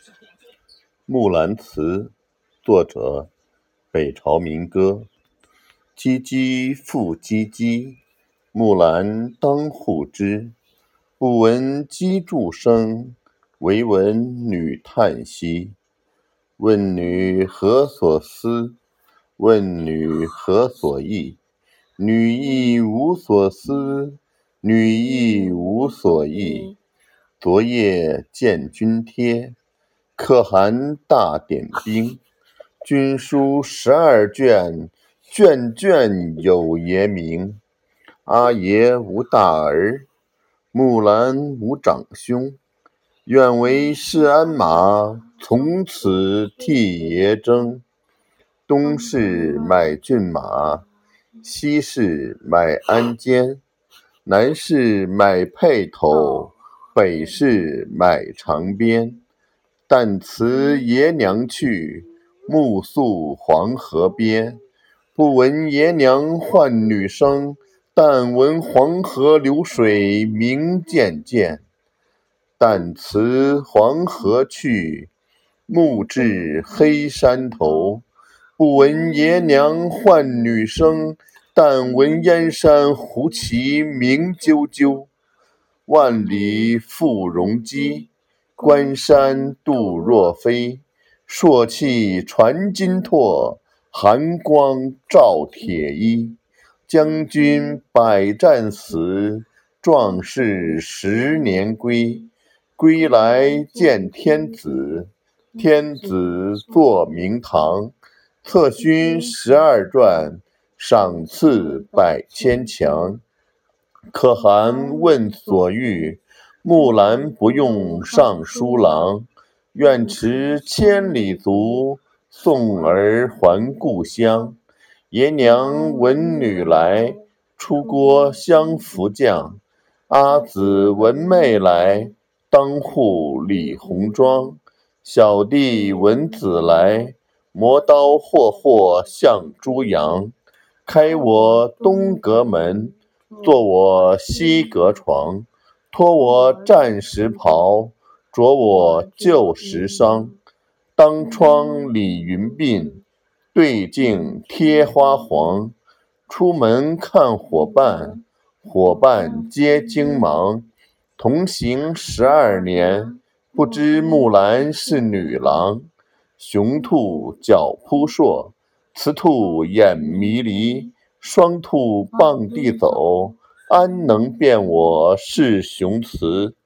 木兰辞，作者北朝民歌。唧唧复唧唧，木兰当户织。不闻机杼声，惟闻女叹息。问女何所思？问女何所忆？女亦无所思，女亦无所忆。昨夜见军帖，可汗大点兵。军书12卷，卷卷有爷名。阿爷无大儿，木兰无长兄。愿为市鞍马，从此替爷征。东市买骏马，西市买鞍鞯。南市买辔头，北市买长鞭。但辞爷娘去，暮宿黄河边。不闻爷娘唤女声，但闻黄河流水鸣溅溅。但辞黄河去，暮至黑山头。不闻爷娘唤女声，但闻燕山胡骑鸣啾啾。万里赴戎机，关山度若飞。朔气传金柝，寒光照铁衣。将军百战死，壮士10年归。归来见天子，天子坐明堂。册勋12传，赏赐100千强。可汗问所欲，木兰不用尚书郎。愿驰千里足，送儿还故乡。爷娘闻女来，出郭相扶将。阿姊闻妹来，当户理红妆。小弟闻姊来，磨刀霍霍向猪羊。开我东阁门，坐我西阁床。脱我战时袍，着我旧时裳。当窗理云鬓，对镜贴花黄。出门看伙伴，伙伴皆惊忙。同行12年，不知木兰是女郎。雄兔脚扑朔，雌兔眼迷离。双兔傍地走，安能辨我是雄雌？